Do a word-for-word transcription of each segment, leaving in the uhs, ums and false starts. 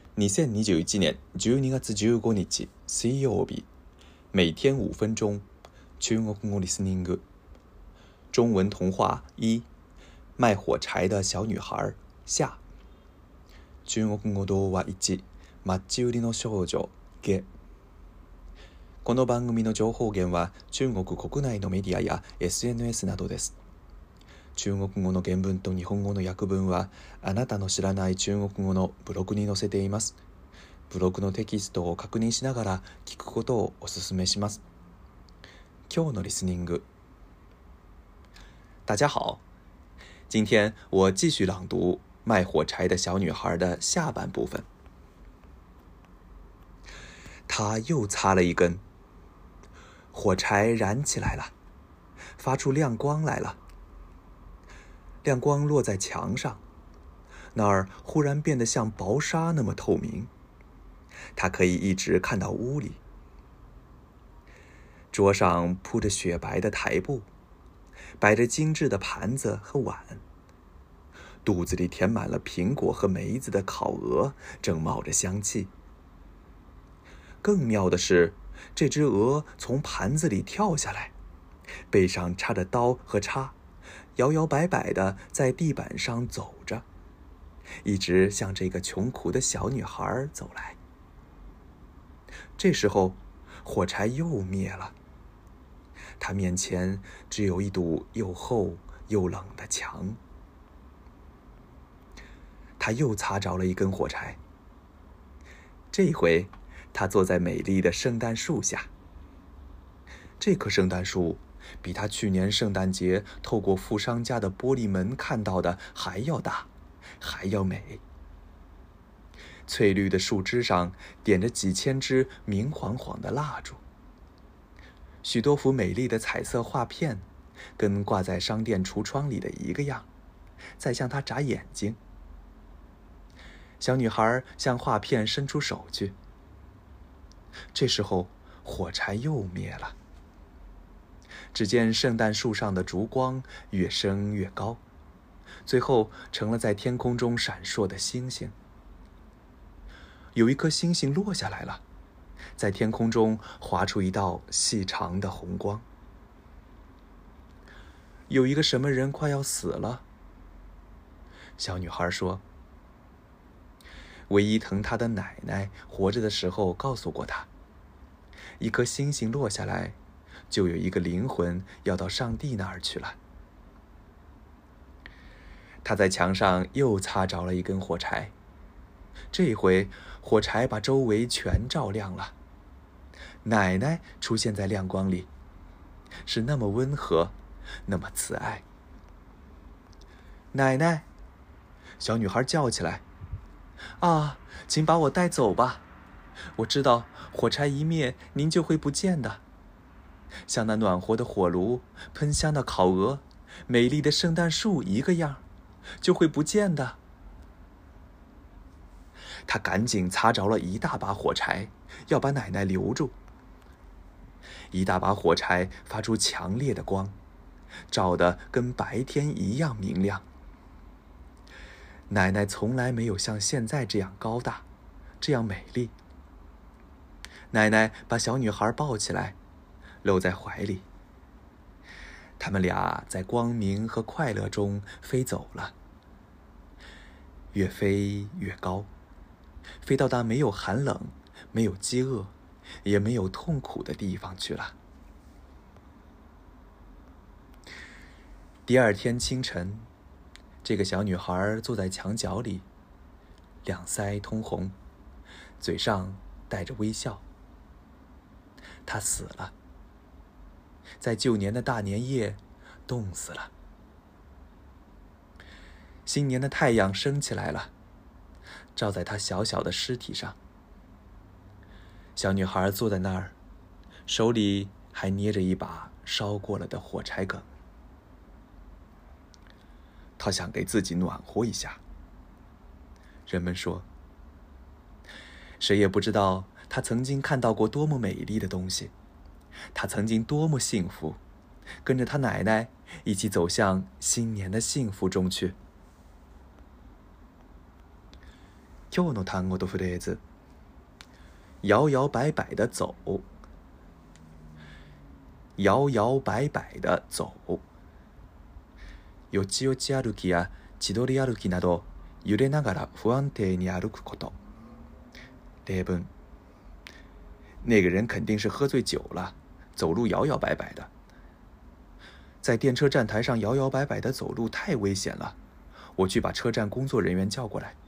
にせんにじゅういち年じゅうにがつじゅうごにち水曜日，每天五分钟，中国語リスニング。中文童话一，卖火柴的小女孩下。中国語童話一、マッチ売りの少女下。この番組の情報源は中国国内のメディアや エスエヌエス などです。中国語の原文と日本語の訳文はあなたの知らない中国語のブログに載せています。ブログのテキストを確認しながら聞くことをお勧めします。今日のリスニング。大家好，今天我继续朗读卖火柴的小女孩的下半部分。她又擦了一根，火柴燃起来了，发出亮光来了。亮光落在墙上，那儿忽然变得像薄纱那么透明，他可以一直看到屋里。桌上铺着雪白的台布，摆着精致的盘子和碗，肚子里填满了苹果和梅子的烤鹅正冒着香气。更妙的是，这只鹅从盘子里跳下来，背上插着刀和叉，摇摇摆摆地在地板上走着，一直向这个穷苦的小女孩走来。这时候，火柴又灭了，她面前只有一堵又厚又冷的墙。她又擦着了一根火柴，这回她坐在美丽的圣诞树下。这棵圣诞树比他去年圣诞节透过富商家的玻璃门看到的还要大，还要美。翠绿的树枝上点着几千支明晃晃的蜡烛，许多幅美丽的彩色画片跟挂在商店橱窗里的一个样，在向他眨眼睛。小女孩向画片伸出手去，这时候火柴又灭了。只见圣诞树上的烛光越升越高，最后成了在天空中闪烁的星星。有一颗星星落下来了，在天空中划出一道细长的红光。有一个什么人快要死了，小女孩说。唯一疼她的奶奶活着的时候告诉过她，一颗星星落下来，就有一个灵魂要到上帝那儿去了。他在墙上又擦着了一根火柴，这回火柴把周围全照亮了。奶奶出现在亮光里，是那么温和，那么慈爱。奶奶，小女孩叫起来，啊，请把我带走吧，我知道火柴一灭，您就会不见的。像那暖和的火炉、喷香的烤鹅、美丽的圣诞树一个样，就会不见的。他赶紧擦着了一大把火柴，要把奶奶留住。一大把火柴发出强烈的光，照得跟白天一样明亮。奶奶从来没有像现在这样高大，这样美丽。奶奶把小女孩抱起来，搂在怀里。他们俩在光明和快乐中飞走了，越飞越高，飞到那没有寒冷、没有饥饿、也没有痛苦的地方去了。第二天清晨，这个小女孩坐在墙角里，两腮通红，嘴上带着微笑。她死了，在旧年的大年夜冻死了。新年的太阳升起来了，照在她小小的尸体上。小女孩坐在那儿，手里还捏着一把烧过了的火柴梗。她想给自己暖和一下。人们说，谁也不知道她曾经看到过多么美丽的东西，她曾经多么幸福，跟着她奶奶一起走向新年的幸福中去。 今日の単語とフレーズ。摇摇摆摆的走。摇摇摆摆的走。よちよち歩きや千鳥歩きなど揺れながら不安定に歩くこと。例文。那个人肯定是喝醉酒了，走路摇摇摆摆的。在电车站台上摇摇摆摆的走路太危险了，我去把车站工作人员叫过来。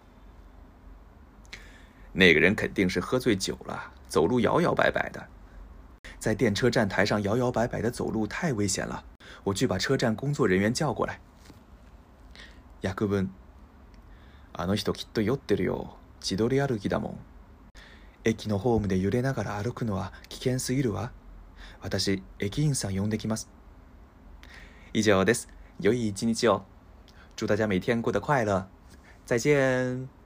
那个人肯定是喝醉酒了，走路摇摇摆摆的。在电车站台上摇摇摆摆的走路太危险了，我去把车站工作人员叫过来。訳文。あの人きっと酔ってるよ。千鳥歩きだもん。駅のホームで揺れながら歩くのは危険すぎるわ。私、駅員さん呼んできます。以上です。良い一日を。祝大家每天过得快乐。再见。